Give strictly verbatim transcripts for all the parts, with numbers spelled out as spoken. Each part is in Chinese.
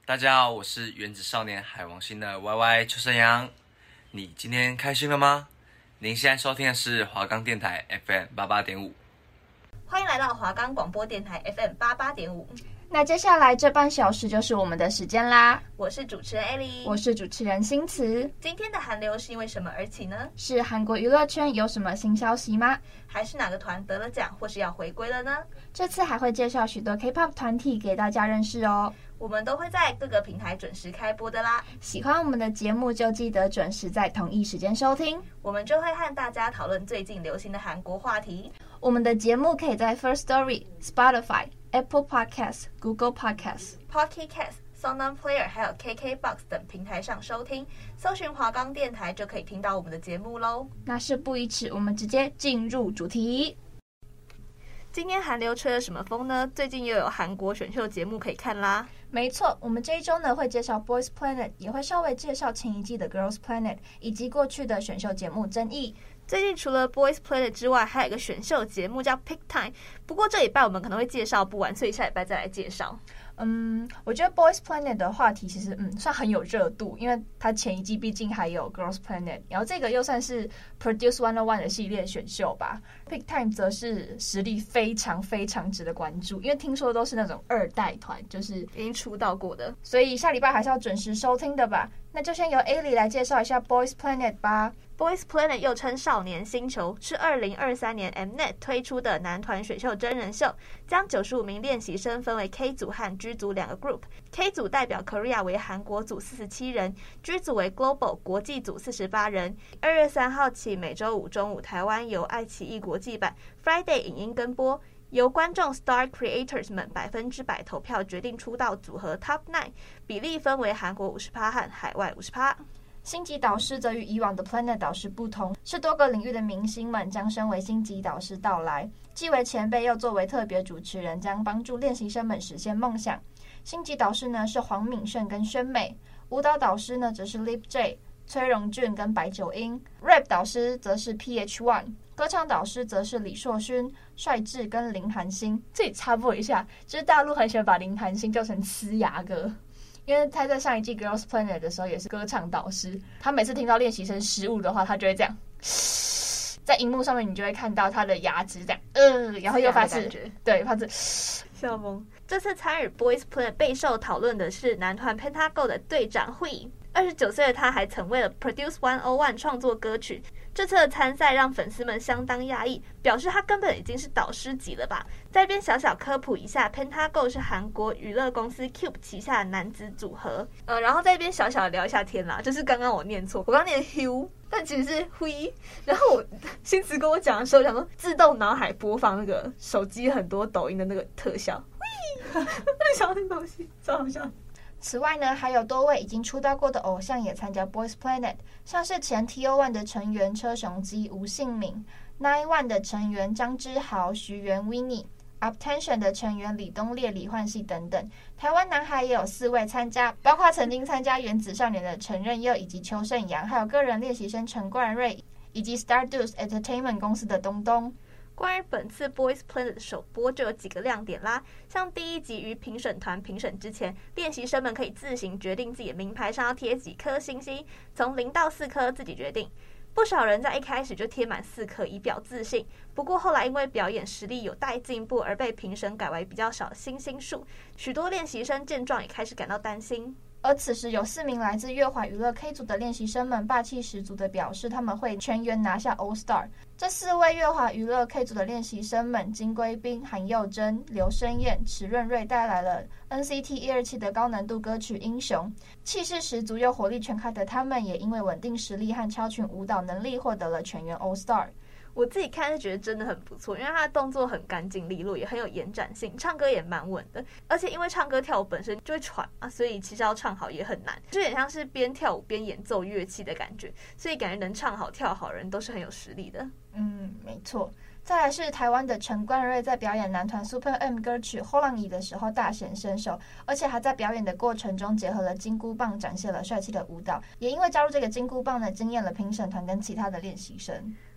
大家好，我是原子少年海王星的 Y Y 邱勝陽。你今天開心了嗎？您現在收聽的是華岡電台 F M 八八點五。 歡迎來到華岡廣播電台 F M 八八點五。 那接下來這半小時就是我們的時間啦。 我是主持人 Ellie， 我是主持人新慈。 今天的韓流是因為什麼而起呢？ 是韓國娛樂圈有什麼新消息嗎？ 還是哪個團得了獎或是要回歸了呢？ 這次還會介紹許多 K-pop 團體給大家認識哦。 我們都會在各個平台準時開播的啦。 喜歡我們的節目就記得準時在同一時間收聽， 我們就會和大家討論最近流行的韓國話題。 我們的節目可以在 Firstory、Spotify、Apple Podcasts、Google Podcasts、Pocket Cast、SoundOn Player 還有 K K box 等平台上收聽，搜尋華岡電台就可以聽到我們的節目嘍。 那事不宜遲，我們直接進入主題。 今天韓流吹了什麼風呢？最近又有韓國選秀節目可以看啦。 沒錯，我們這一周呢會介紹 Boys Planet， 也會稍微介紹前一季的 Girls Planet， 以及過去的選秀節目爭議。 最近除了 Boys Planet 之外，還有一個選秀節目叫 Pick Time， 不過這禮拜我們可能會介紹不完，所以下禮拜再來介紹。 嗯，我覺得 Boys Planet 的話題其實嗯算很有熱度，因為它前一季畢竟還有 Girls Planet， 然後這個又算是 Produce one oh one 的系列選秀吧。Pick Time 則是實力非常非常值得關注，因為聽說都是那種二代團，就是已經出道過的， 所以下禮拜還是要準時收聽的吧。那就先由 Ellie 來介紹一下 Boys Planet 吧。 Boys Planet 又稱少年星球，是二零二三年 Mnet 推出的男團選秀真人秀，將九十五名練習生分為 K 組和 G 組兩個 group。K 組代表 Korea 為韓國組四十七人 ，G 組為 Global 國際組四十八人。二月三號起，每周五中午台灣由愛奇藝國際版 Friday 影音跟播，由觀眾 Star Creators 們百分之百投票決定出道組合 Top Nine， 比例分為韓國五十趴和海外五十趴。 星級導師則與以往的 Planet 導師不同，是多個領域的明星們將身為星級導師到來，既為前輩又作為特別主持人，將幫助練習生們實現夢想。星級導師呢是黃敏勝跟宣美，舞蹈導師呢則是 Lip J、崔榮俊跟白九英 ，Rap 導師則是 P H one， 歌唱導師則是李碩勳、帥智跟林韓星。這裡插播一下，就是大陸很喜歡把林韓星叫成呲牙哥。因為他在上一季 Girls Planet 的時候也是歌唱導師，他每次聽到練習生失誤的話，他就會這樣，在熒幕上面你就會看到他的牙齒這樣，呃，然後又發出，對，發出笑瘋。這次參與 Boys Planet 備受討論的是男團 Pentago 的隊長 Hui， 二十九歲的他還曾為了 Produce one oh one 創作歌曲。這次的參賽讓粉絲們相當訝異，表示他根本已經是導師級了吧。在這邊小小科普一下 ，Pentago 是韓國娛樂公司 Cube 旗下的男子組合。呃，然後在這邊小小的聊一下天啦，就是剛剛我念錯，我剛念 Hugh， 但其實是 Hui。然後我新詞跟我講的時候，想說自動腦海播放那個手機很多抖音的那個特效 ，Hui， 我就想到那東西，超好笑。 此外呢，還有多位已經出道過的偶像也參加 Boys Planet， 像是前 T O one 的成員車雄基、吳信敏 ，Nine One 的成員張之豪、徐元 Winnie、Uptension 的成員李東烈、李煥熙等等。台灣男孩也有四位參加，包括曾經參加原子少年的陳任佑以及邱勝陽，還有個人練習生陳冠瑞，以及 Stardust Entertainment 公司的東東。 關於本次 Boys Planet 的首播就有幾個亮點啦，像第一集於評審團評審之前，練習生們可以自行決定自己的名牌上要貼幾顆星星，從零到四顆自己決定。不少人在一開始就貼滿四顆以表自信，不過後來因為表演實力有待進步而被評審改為比較少的星星數，許多練習生見狀也開始感到擔心。 而此時有四名來自樂華娛樂 K 組的練習生們霸氣十足的表示他們會全員拿下 All Star。這四位樂華娛樂 K 組的練習生們金圭彬、韓佑真、劉申燕、池潤瑞帶來了 N C T 一二七的高難度歌曲《英雄》，氣勢十足又活力全開的他們也因為穩定實力和超群舞蹈能力獲得了全員 All Star。 我自己看是覺得真的很不錯，因為他的動作很乾淨利落，也很有延展性，唱歌也蠻穩的。而且因為唱歌跳舞本身就會喘嘛，所以其實要唱好也很難，就有點像是邊跳舞邊演奏樂器的感覺，所以感覺能唱好跳好的人都是很有實力的。 嗯，沒錯。再來是台灣的陳冠瑞，在表演男團 Super M 歌曲《後浪椅》的時候大顯身手，而且還在表演的過程中結合了金箍棒，展現了帥氣的舞蹈。也因為加入這個金箍棒呢，驚豔了評審團跟其他的練習生。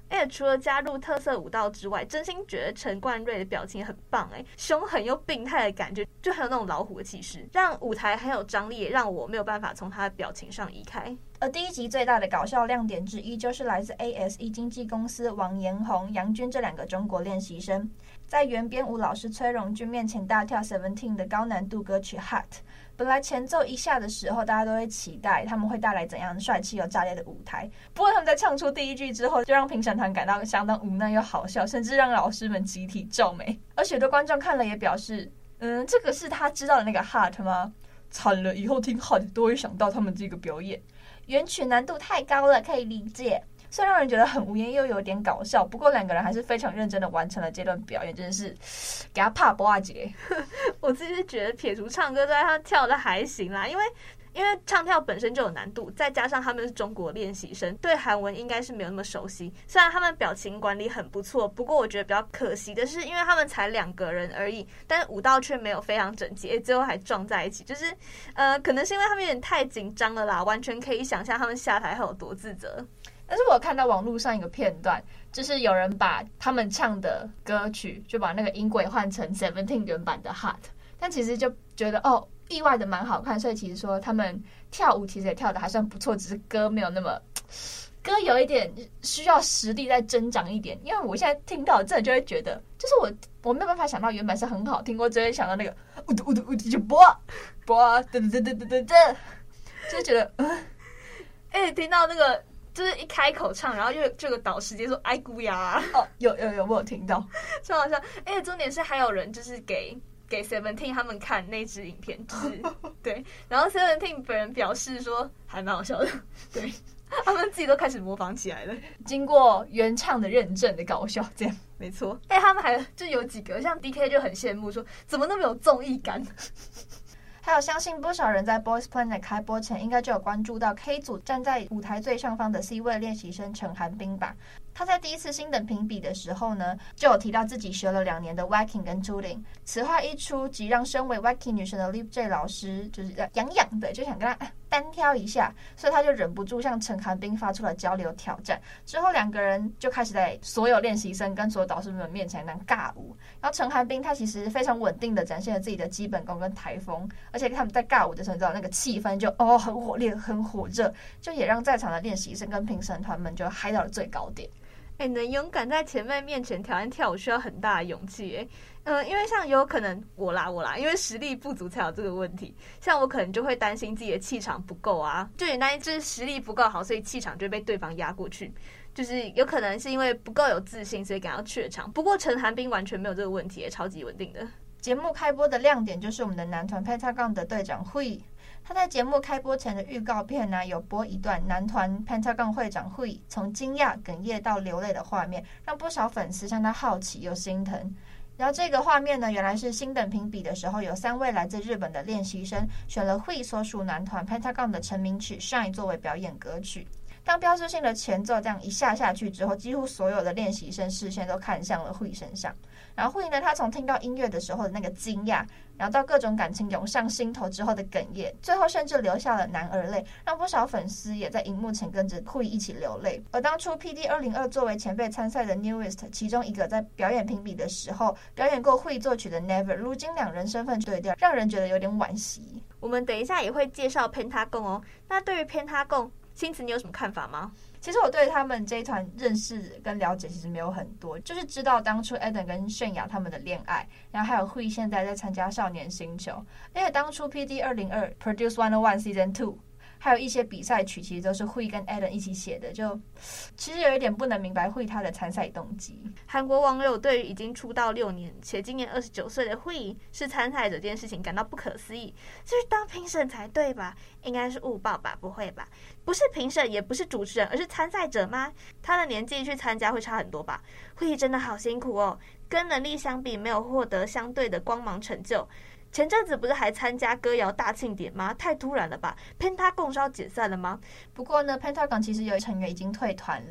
而且除了加入特色舞蹈之外，真心覺得陳冠瑞的表情很棒哎，兇狠又病態的感覺，就很有那種老虎的氣勢，讓舞台很有張力，也讓我沒有辦法從他的表情上移開。 而第一集最大的搞笑亮點之一，就是來自 A S E 經紀公司王延宏、楊軍這兩個中國練習生，在原編舞老師崔榮俊面前大跳 Seventeen 的高難度歌曲 Hot。本來前奏一下的時候，大家都會期待他們會帶來怎樣帥氣又炸裂的舞台。不過他們在唱出第一句之後，就讓評審團感到相當無奈又好笑，甚至讓老師們集體皺眉。而許多觀眾看了也表示，嗯，這個是他知道的那個 Hot 嗎？慘了，以後聽 Hot 都會想到他們這個表演。原曲難度太高了，可以理解，雖然讓人覺得很無言又有點搞笑，不過兩個人還是非常認真的完成了這段表演，真的是給他拍脖子。 我自己是覺得撇除唱歌之外，他跳的還行啦，因為因為唱跳本身就有難度，再加上他們是中國練習生，對韓文應該是沒有那麼熟悉。雖然他們表情管理很不錯，不過我覺得比較可惜的是，因為他們才兩個人而已，但是舞蹈卻沒有非常整齊，最後還撞在一起，就是呃，可能是因為他們有點太緊張了啦，完全可以想象他們下台後有多自責。 但是我看到網絡上一個片段，就是有人把他們唱的歌曲，就把那個音軌換成 Seventeen 原版的 Hot， 但其實就覺得哦，意外的蠻好看，所以其實說他們跳舞其實也跳得還算不錯，只是歌沒有那麼，歌有一點需要實力再增長一點。因為我現在聽到真的就會覺得，就是我我沒有辦法想到原版是很好聽，我只會想到那個嗚嘟嗚嘟嗚嘟就播播嘚嘚嘚嘚嘚嘚，就是覺得嗯， 哎、欸，聽到那個。就是一開口唱，然後又這個導師直接說“哎姑呀”， 哦，有有有，我有聽到， 超好笑。而且重點是還有人就是給給 Seventeen 他們看那支影片，就是對，然後 Seventeen 本人表示說還蠻好笑的，對，他們自己都開始模仿起來了， 經過原唱的認證的搞笑，這樣沒錯。哎，他們還就有幾個像 D K 就很羨慕說，怎麼那麼有綜藝感。 還有，相信不少人在 Boys Planet 開播前，應該就有關注到 K 組站在舞台最上方的 C 位練習生陳寒冰吧。他在第一次星等評比的時候呢，就有提到自己學了兩年的 Waacking 跟 Tooting。此話一出，即讓身為 Waacking 女神的 Lip J 老師就是癢癢的，就想跟他單挑一下，所以他就忍不住向陳寒冰發出了交流挑戰。之後兩個人就開始在所有練習生跟所有導師們面前當尬舞。然後陳寒冰他其實非常穩定的展現了自己的基本功跟台風，而且他們在尬舞的時候，你知道那個氣氛就哦很火烈很火熱，就也讓在場的練習生跟評審團們就嗨到了最高點。 哎、欸，能勇敢在前輩面前挑戰跳舞，需要很大的勇氣。哎，嗯，因為像有可能我啦我啦，因為實力不足才有這個問題。像我可能就會擔心自己的氣場不夠啊，就原來就是實力不夠好，所以氣場就會被對方壓過去。就是有可能是因為不夠有自信，所以感到怯場。不過陳寒冰完全沒有這個問題，也超級穩定的。 節目開播的亮點就是我們的男團 Pentagon 的隊長 Hui。他在節目開播前的預告片呢、啊，有播一段男團 Pentagon 會長 Hui 從驚訝、哽咽到流淚的畫面，讓不少粉絲向他好奇又心疼。然後這個畫面呢，原來是星等評比的時候，有三位來自日本的練習生選了 Hui 所屬男團 Pentagon 的成名曲 Shine 作為表演歌曲。當標誌性的前奏這樣一下下去之後，幾乎所有的練習生視線都看向了 Hui 身上。然後 Hui 呢，他從聽到音樂的時候的那個驚訝，然後到各種感情湧上心頭之後的哽咽，最後甚至流下了男兒淚，讓不少粉絲也在熒幕前跟着 Hui 一起流淚。而當初 P D 二零二作為前輩參賽的 Newest 其中一個，在表演評比的時候表演過 Hui 作曲的 Never， 如今兩人身份對調，讓人覺得有點惋惜。 我們等一下也會介紹 Pentagon 哦。那對於 Pentagon，星子你有什麼看法嗎？ 其實我對他們這一團認識跟了解其實沒有很多，就是知道當初 Eden 跟泫雅他們的戀愛，然後還有 Hui 現在在參加少年星球，而且當初 P D 二零二 Produce one oh one Season two， 還有一些比賽曲其實都是 Hui 跟 Eden 一起寫的，就其實有一點不能明白 Hui 他的參賽動機。 韓國網友對於已經出道六年且今年二十九歲的 Hui 是參賽者這件事情感到不可思議，就是當評審才對吧？應該是誤報吧？不會吧？不是評審也不是主持人，而是參賽者嗎？他的年紀去參加會差很多吧？ Hui 真的好辛苦哦，跟能力相比沒有獲得相對的光芒成就。前陣子不是還參加歌謠大慶典嗎？太突然了吧？ Pentagon 是要解散了嗎？ 不過呢 Pentagon 其實有成員已經退團了，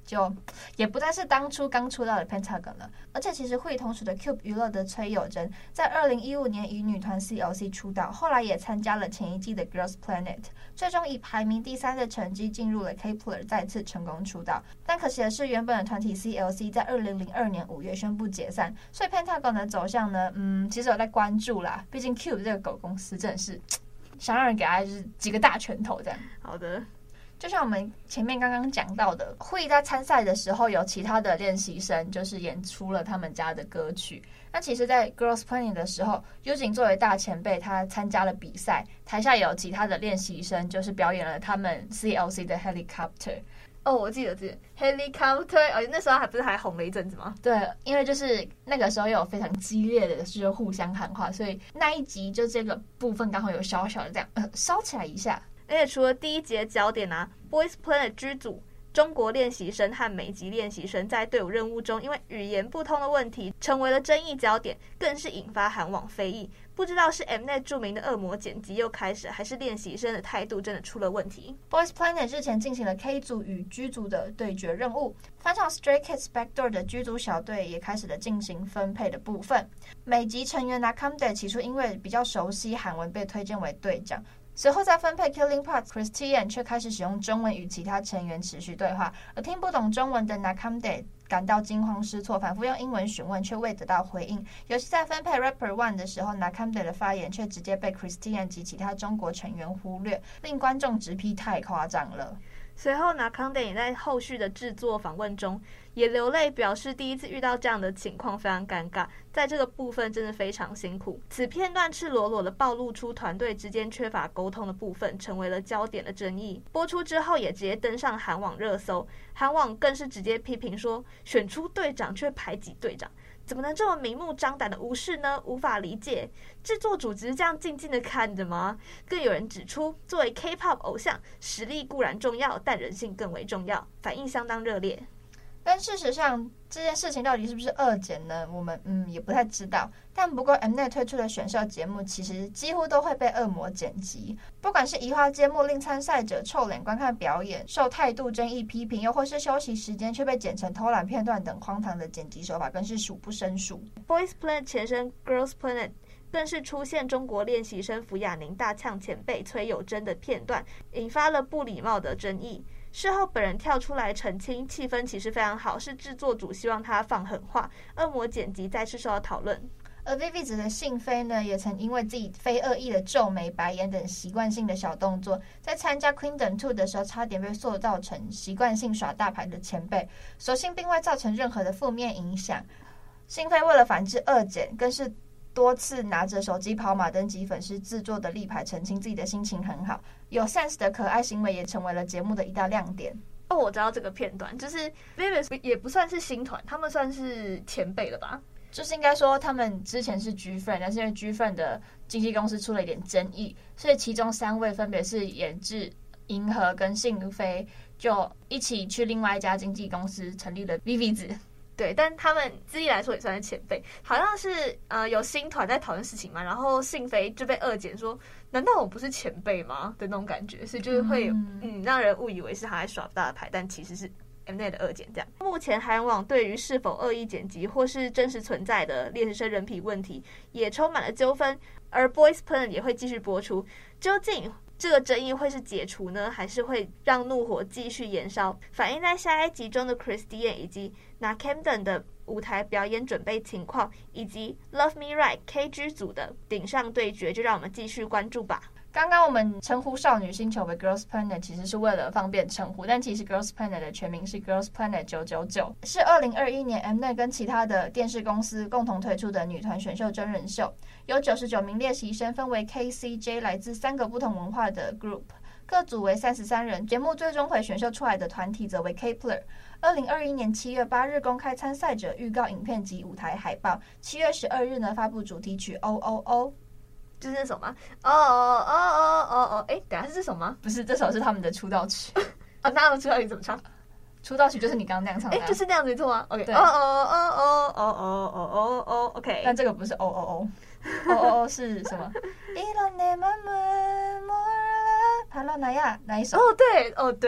就也不再是當初剛出道的 Pentagon 了。而且其實 Hui 同屬的 Cube 娛樂的崔友珍，在二零一五年以女團 C L C 出道，後來也參加了前一季的 Girls Planet， 最終以排名第三的成績進入了 Kep1er， 再次成功出道。但可惜的是，原本的團體 C L C 在二零零二年五月宣布解散，所以 Pentagon 的走向呢，嗯，其實有在關注啦。畢竟 Cube 這個狗公司真的是想讓人給他就是幾個大拳頭這樣。 好的。 就像我們前面剛剛講到的，Hui在參賽的時候有其他的練習生就是演出了他們家的歌曲。那其實在 Girls Planet 的時候， Yujin 作為大前輩，他參加了比賽，台下也有其他的練習生就是表演了他們 C L C 的 Helicopter。 哦，我記得記得 Helicopter， 哦，那時候還不是還紅了一陣子嗎？ 對，因為就是那個時候又有非常激烈的就是互相喊話，所以那一集就這個部分剛好有小小的這樣呃燒起來一下。 而且除了第一集的焦點啊 ，Boys Planet 劇組中國練習生和美籍練習生在隊伍任務中因為語言不通的問題成為了爭議焦點，更是引發韓網非議。不知道是 Mnet 著名的惡魔剪輯又開始，還是練習生的態度真的出了問題。 Boys Planet 日前進行了 K 組與 G 組的對決任務，返場 Stray Kids Backdoor 的 G 組小隊也開始了進行分配的部分。美籍成員 Nakamde 起初因為比較熟悉韓文被推薦為隊長，隨後在分配 Killing Parts Christian 卻開始使用中文與其他成員持續對話，而聽不懂中文的 Nakamde 感到驚慌失措，反覆用英文詢問卻未得到回應。尤其在分配 Rapper One 的時候， Nakamde 的發言卻直接被 Christian 及其他中國成員忽略，令觀眾直批太誇張了。 隨後 Nakamde 也在後續的制作訪問中也流淚，表示第一次遇到這樣的情況非常尷尬，在這個部分真的非常辛苦。此片段赤裸裸的暴露出團隊之間缺乏溝通的部分，成為了焦點的爭議。播出之後也直接登上韓網熱搜，韓網更是直接批評說，選出隊長卻排擠隊長，怎麼能這麼明目張膽的無視呢？無法理解，制作組只是這樣靜靜的看着嗎？更有人指出，作為 K-pop 偶像，實力固然重要，但人性更為重要，反應相當熱烈。 但事實上，這件事情到底是不是惡剪呢？我們嗯也不太知道。但不過 Mnet 推出的選秀節目其實幾乎都會被惡魔剪輯，不管是移花接木令參賽者臭臉觀看表演，受態度爭議批評，又或是休息時間卻被剪成偷懶片段等荒唐的剪輯手法，更是數不勝數。 Boys Planet 前身 Girls Planet 更是出現中國練習生福雅寧大嗆前輩崔友珍的片段，引發了不禮貌的爭議。事後本人跳出來澄清，氣氛其實非常好，是制作組希望他放狠話。惡魔剪輯再次受到討論。 而 Vivi 子的信飛呢，也曾因為自己非惡意的皺眉、白眼等習慣性的小動作，在參加 Queendom 二的時候，差點被塑造成習慣性耍大牌的前輩，所幸並未造成任何的負面影響。信飛為了反制惡剪，更是多次拿着手機跑馬燈及粉絲制作的立牌澄清自己的心情很好，有 sense 的可愛行為也成為了節目的一大亮點。 哦，我知道這個片段，就是 Vivi 也不算是新團，他們算是前輩了吧？ 就是應該說他們之前是 G-Friend， 但是因為 G-Friend 的經紀公司出了一點爭議，所以其中三位分別是演志、銀河跟信飛，就一起去另外一家經紀公司成立了 Vivi 子。 對，但他們自己來說也算是前輩，好像是呃有新團在討論事情嘛，然後信飛就被惡剪說，難道我不是前輩嗎的那種感覺，所以就是會嗯，嗯讓人誤以為是他在耍大牌，但其實是 Mnet 的惡剪這樣。目前韓網對於是否惡意剪輯或是真實存在的練習生人品問題也充滿了糾紛，而 Boys Planet 也會繼續播出，究竟這個爭議會是解除呢，還是會讓怒火繼續延燒？反映在下一集中的 Christian 以及 Nakamde 的舞台表演準備情況，以及 Love Me Right K G 組的頂上對決，就讓我們繼續關注吧。 剛剛我們稱呼少女星球為 Girls Planet 其實是為了方便稱呼，但其實 Girls Planet 的全名是 Girls Planet 九九九，是二零二一年 Mnet 跟其他的電視公司共同推出的女團選秀真人秀，有九十九名練習生，分為 K C J 來自三個不同文化的 group， 各組為三十三人。節目最終回選秀出來的團體則為 Kep1er。二零二一年七月八日公開參賽者預告影片及舞台海報，七月十二日呢發布主題曲 O O O。 就是那首嗎？哦哦哦哦哦哦！哎，等下是這首嗎？ 不是，這首是他們的出道曲。 啊，那他們出道曲怎麼唱？ 出道曲就是你剛剛那樣唱的。 哎，就是那樣子做嗎 ？OK。 對。 哦哦哦哦哦哦哦哦哦 OK。 但這個不是哦哦哦，哦哦哦是什麼？爬到哪呀？哪一首？ 哦，對，哦對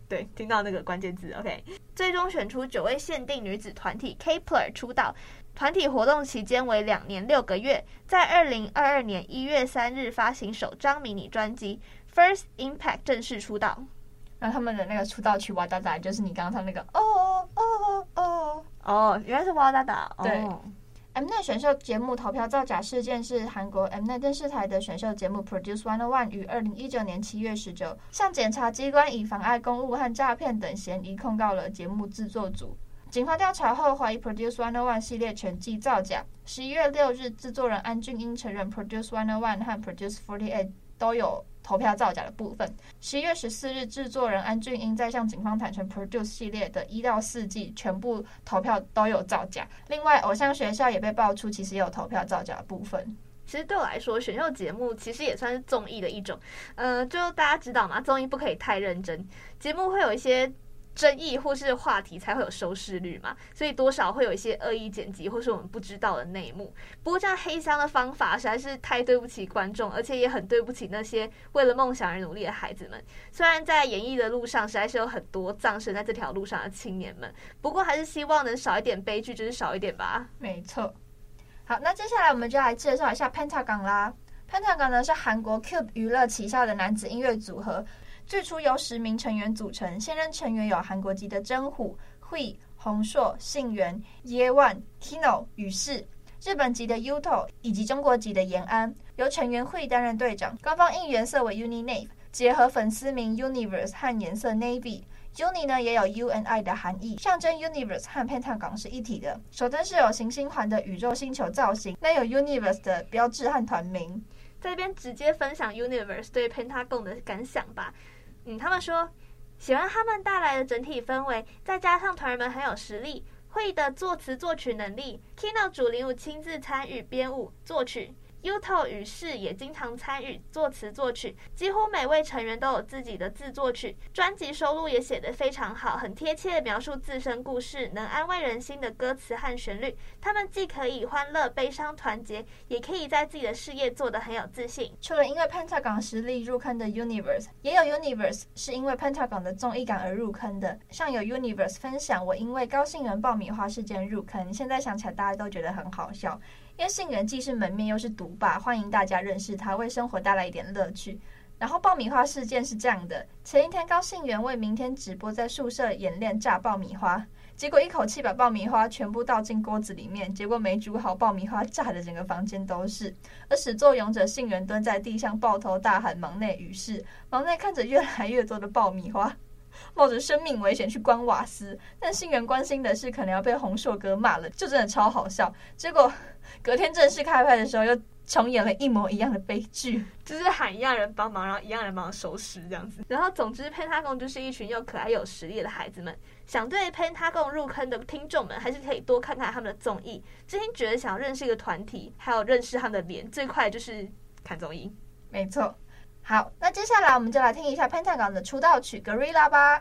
對，聽到那個關鍵字 ，OK。最終選出九位限定女子團體 Kep1er 出道，團體活動期間為兩年六個月，在二零二二年一月三日發行首張迷你專輯 First Impact 正式出道。 然後他們的那個出道曲《哇噠噠》就是你剛剛唱那個哦哦哦哦，原來是哇噠噠。 對。 哦 Mnet 選秀節目投票造假事件是韓國 Mnet 電視台的選秀節目 Produce one oh one 於二零一九年七月十九向檢察機關以妨礙公務和詐騙等嫌疑控告了節目製作組。警方調查後懷疑 Produce one oh one 系列全季造假。十一月六日，製作人安俊英承認 Produce one oh one 和 Produce forty-eight 都有投票造假的部分。十一月十四日，製作人安俊英在向警方坦承 Produce 系列的一到四季全部投票都有造假。另外，偶像學校也被爆出其實也有投票造假的部分。 其實对我來說，選秀節目其實也算是綜藝的一種。呃，就大家知道嘛，綜藝不可以太認真，節目會有一些爭議或是話題才會有收視率嘛，所以多少會有一些惡意剪輯或是我們不知道的內幕。不過這樣黑箱的方法實在是太對不起觀眾，而且也很對不起那些為了夢想而努力的孩子們。雖然在演藝的路上實在是有很多葬身在這條路上的青年們，不過還是希望能少一點悲劇，就是少一點吧。 沒錯。好，那接下來我們就來介紹一下 Pentagon 啦。Pentagon 呢是韓國 Cube 娛樂旗下的男子音樂組合。最初由十名成員組成，現任成員有韓國籍的真虎、Hui、洪碩、信元、耶萬、Kino、宇世，日本籍的 Yuto 以及中國籍的延安，由成員 Hui 擔任隊長。官方應顏色為 UniNave， 結合粉絲名 Universe 和顏色 Navy。Uni 呢也有 U N I 的含義，象徵 Universe 和 Pentagon 是一體的。手燈是有行星環的宇宙星球造型，那有 Universe 的標誌和團名。 在這邊直接分享 Universe 對 Pentagon 的感想吧。嗯，他們說喜歡他們帶來的整體氛圍，再加上團員們很有實力，會的作詞作曲能力 ，Kino 主領舞親自參與編舞作曲。Yuto 與世也經常參與作詞作曲，幾乎每位成員都有自己的自作曲。專輯收錄也寫得非常好，很貼切地描述自身故事，能安慰人心的歌詞和旋律。他們既可以歡樂、悲傷、團結，也可以在自己的事業做得很有自信。 除了因為 Pentagon 實力入坑的 Universe， 也有 Universe 是因為 Pentagon 的綜藝感而入坑的。像有 Universe 分享，我因為高杏元爆米花事件入坑，現在想起來大家都覺得很好笑。因為杏元既是門面又是獨霸，歡迎大家認識他，為生活帶來一點樂趣。然後爆米花事件是這樣的：前一天高杏元為明天直播在宿舍演練炸爆米花，結果一口氣把爆米花全部倒進鍋子裡面，結果沒煮好，爆米花炸的整個房間都是。而始作俑者杏元蹲在地上抱頭大喊忙內於是，忙內看着越來越多的爆米花，冒着生命危險去關瓦斯，但杏元關心的是可能要被洪碩哥罵了，就真的超好笑。結果隔天正式開拍的時候，又重演了一模一樣的悲劇， 就是喊一樣人幫忙，然後一樣人幫忙收拾這樣子。然後總之 Pentagon 就是一群又可愛又有實力的孩子們。想對 Pentagon 入坑的聽眾們，還是可以多看看他們的綜藝。之前覺得想要認識一個團體，還有認識他們的臉，最快就是看綜藝。 沒錯。好，那接下來我們就來聽一下 Pentagon 的出道曲《Gorilla》吧。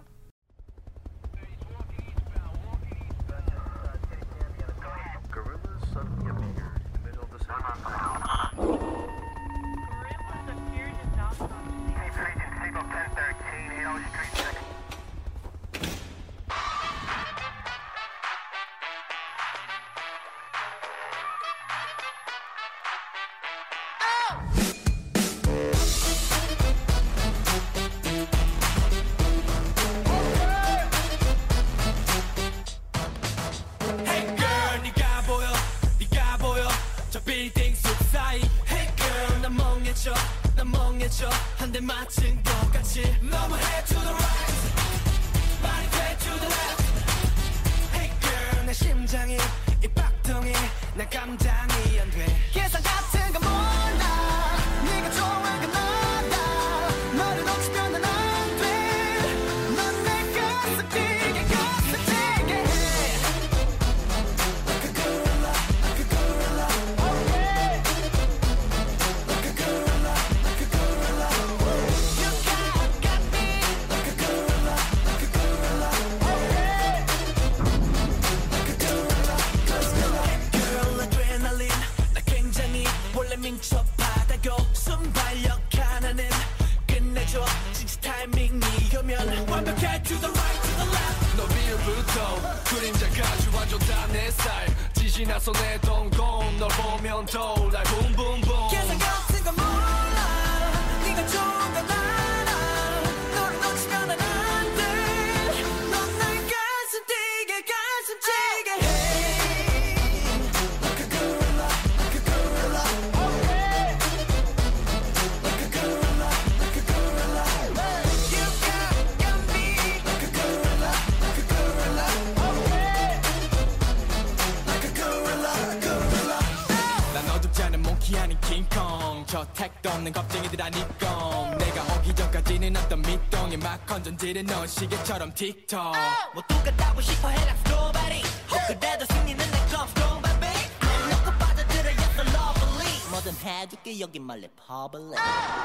그림자까지 완전 다 내 스타일 지시 나서 내 동공 널 보면 떠올라 boom boom boom 계산 같은 건 몰라 네가 좋은 건 알아 너를 놓치면 난 안 돼 넌 날 가슴 뛰게 가슴 치게 hey like a gorilla like a gorilla okay like a gorilla like a gorilla you got, got me like a gorilla like a gorilla 난 어둡지 않은 몽키 아닌 킹콩 저 택도 없는 겁쟁이들 아니건 내가 오기 전까지는 어떤 밑동에 막 건전지를 넣은 시계처럼 틱톡 뭐 똑같다고 싶어 해 like nobody 그래도 승리는 내 건 strong baby 안 놓고 빠져들어 yes so lovely 뭐든 해줄게 여기 말래 public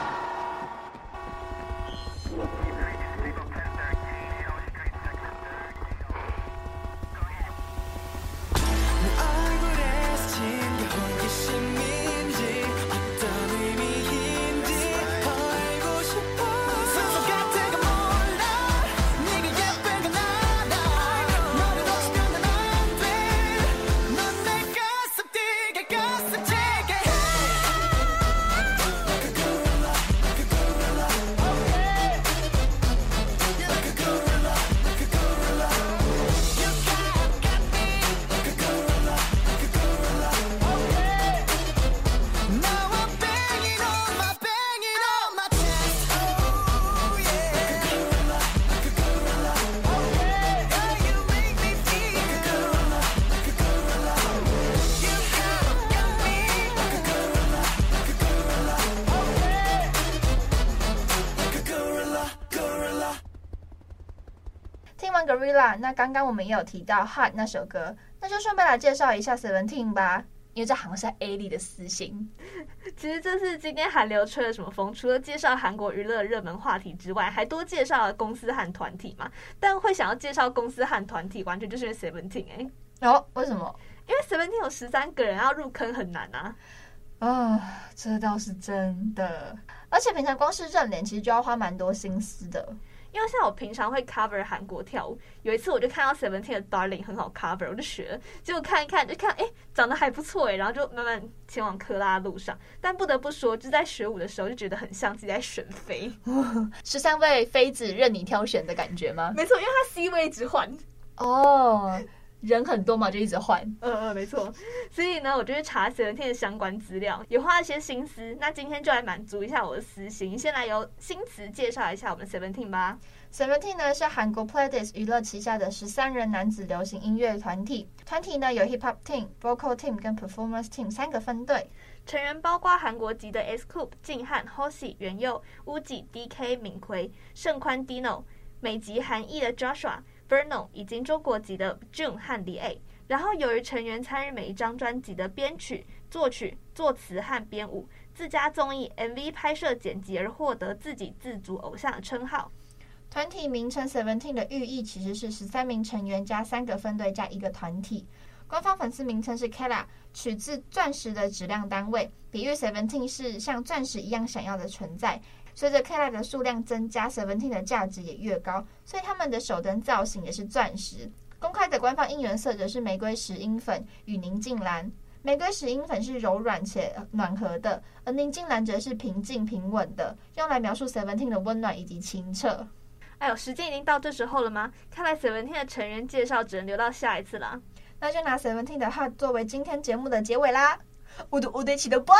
Gorilla， 那剛剛我們也有提到 Hot 那首歌，那就順便來介紹一下 Seventeen 吧，因為這好像是 A 莉的私心。 其實這次今天韓流吹了什麼風？除了介紹韓國娛樂熱門話題之外，還多介紹了公司和團體嘛。但會想要介紹公司和團體，完全就是因為 Seventeen 哎、 欸。哦，為什麼？ 因為 Seventeen 有十三個人，要入坑很難啊。 啊、哦，這倒是真的。而且平常光是認臉，其實就要花蠻多心思的。 因為像我平常會 cover 韓國跳舞，有一次我就看到 Seventeen 的 Darling 很好 cover， 我就學了，結果看一看就看，哎，長得還不錯哎，然後就慢慢前往克拉的路上。但不得不說，就在學舞的時候就覺得很像自己在選妃， 十三位妃子任你挑選的感覺嗎？ 沒錯，因為他 C 位一直換哦。Oh.人很多嘛，就一直換。 嗯嗯，沒錯。所以呢，我就去查 Seventeen 的相關資料，也花了些心思。那今天就來滿足一下我的私心，先來由新詞介紹一下我們 Seventeen 吧。 Seventeen 呢是韓國 Pledis 娛樂旗下的十三人男子流行音樂團體。團體呢有 Hip Hop Team、Vocal Team 跟 Performance Team 三個分隊， 成員包括韓國籍的 S.Coup、敬漢、Hoshi、元佑、烏吉、D K、敏奎、盛寬、Dino、美籍韓裔的 Joshua、Verno 以及中國籍的 June 和李 A， 然後由於成員參與每一張專輯的編曲、作曲、作詞和編舞，自家綜藝 M V 拍攝剪輯而獲得自給自足偶像的稱號。 團體名稱 Seventeen 的寓意其實是十三名成員加三個分隊加一個團體。官方粉絲名稱是 Kara， 取自鑽石的質量單位，比喻 Seventeen 是像鑽石一樣閃耀的存在。隨着 Kara 的數量增加 ，Seventeen 的價值也越高，所以他們的手燈造型也是鑽石。公開的官方應援色則是玫瑰石英粉與寧靜藍。玫瑰石英粉是柔軟且暖和的，而寧靜藍則是平靜平穩的，用來描述 Seventeen 的溫暖以及清澈。 哎呦，時間已經到這時候了嗎？看來 Seventeen 的成員介紹只能留到下一次啦。 那就拿 Seventeen 的 Hot 作為今天節目的結尾啦。우두우대치도봐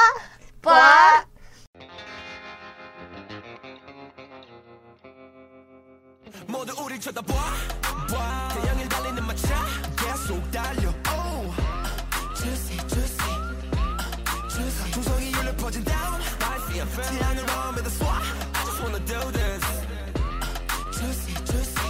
봐。 모두 우릴 쳐다봐 봐 태양을 달리는 마차 계속 달려 oh juicy juicy juicy 중성이 울려 퍼진 down I feel 태양을 마음에다 쏴 I just wanna do this juicy juicy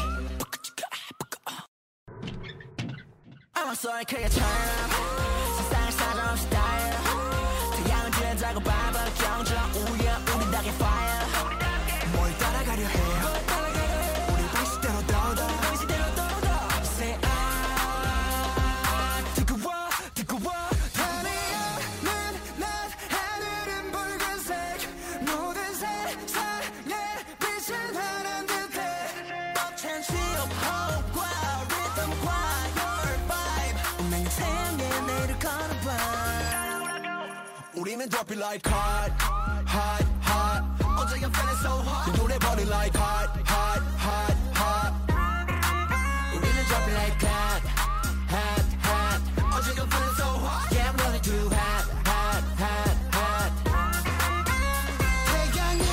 I'm so 크게 turn 세상을 사정없이 달려 태양은 주연자고 밟아 경적 우연 우리 닭의 fire 뭘 따라가려 해요 Hope, wow, rhythm, wow. 우리는 drop it like hot, hot, hot. 어제 I'm feeling so hot. 이 노래 body like hot, hot, hot, hot. 우리는 drop it like hot, hot, hot. 어제 I'm feeling so hot. Yeah, I'm running too hot, hot, hot, hot. 태양을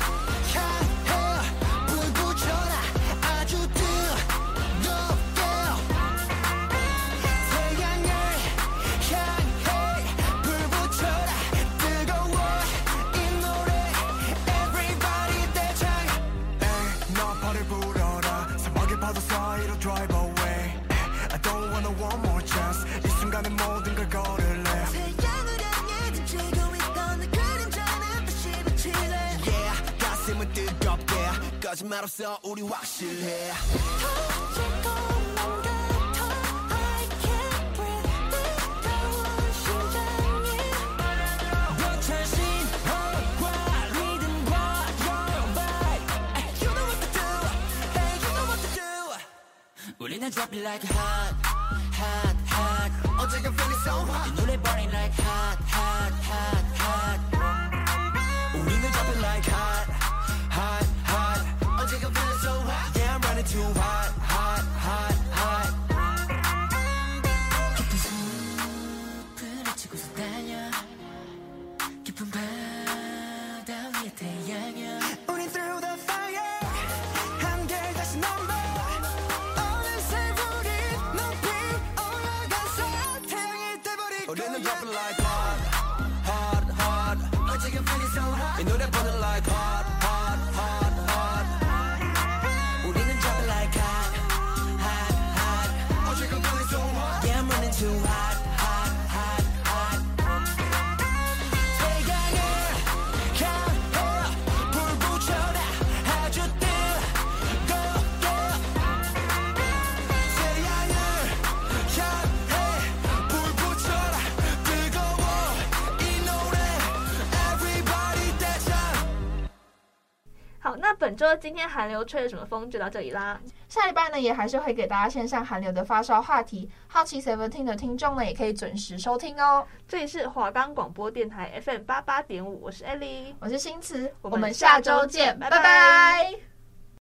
향해 불 붙여라 아주 뜨겁게. 태양을 향해 불 붙여라 뜨거워 이 노래 everybody 대장. 에이 너 발을 불어라 사막의 파도 사이로 drive away. I don't wanna one more chance 이 순간에 모든 걸 걸을래. 태양을 향해 던지고 있던 내 그림자는 다시 비치네. Yeah 가슴은 뜨겁게 거짓말 없어 우리 확실해. 터질 것만 같아 I can't breathe 뜨거운 심장이. 벅찬 신호과 리듬과 your vibe. You know what to do. Hey you know what to do. 우리는 drop it like hot, hot, hot. 어제가 feeling so hot. 이 노래 burning like hot, hot, hot, hot. 우리는 drop it like hot, hot, hot. 어제가 feeling so hot. Yeah, I'm running too hot, hot, hot, hot. 깊은 숲을 헤치고서 달려 깊은 바다 위에 태양여. 우린 through the fire 함께 다시 넘어. 어느새 우리 높이 올라가서 태양이 돼버릴 거야. 우리는 drop it like hot, hot, hot. 어제가 feeling so hot. 이 노래 burning like hot, hot, hot, hot. 우리는 drop it like hot, hot, hot. 어제가 feeling so hot. Yeah, I'm running too hot, hot, hot, hot. 태양을 향해 불 붙여라 아주 뜨겁게. 태양을 향해 불 붙여라 뜨거워 이 노래 everybody 대장. 好，那本周今天韩流吹了什麼風就到這裡啦。 下禮拜呢，也還是會給大家線上韓流的發燒話題，好奇 Seventeen 的聽眾呢，也可以準時收聽哦。 這裡是華岡廣播電台 F M 八八點五，我是 Ellie， 我是新慈， 我我們下周見，拜拜。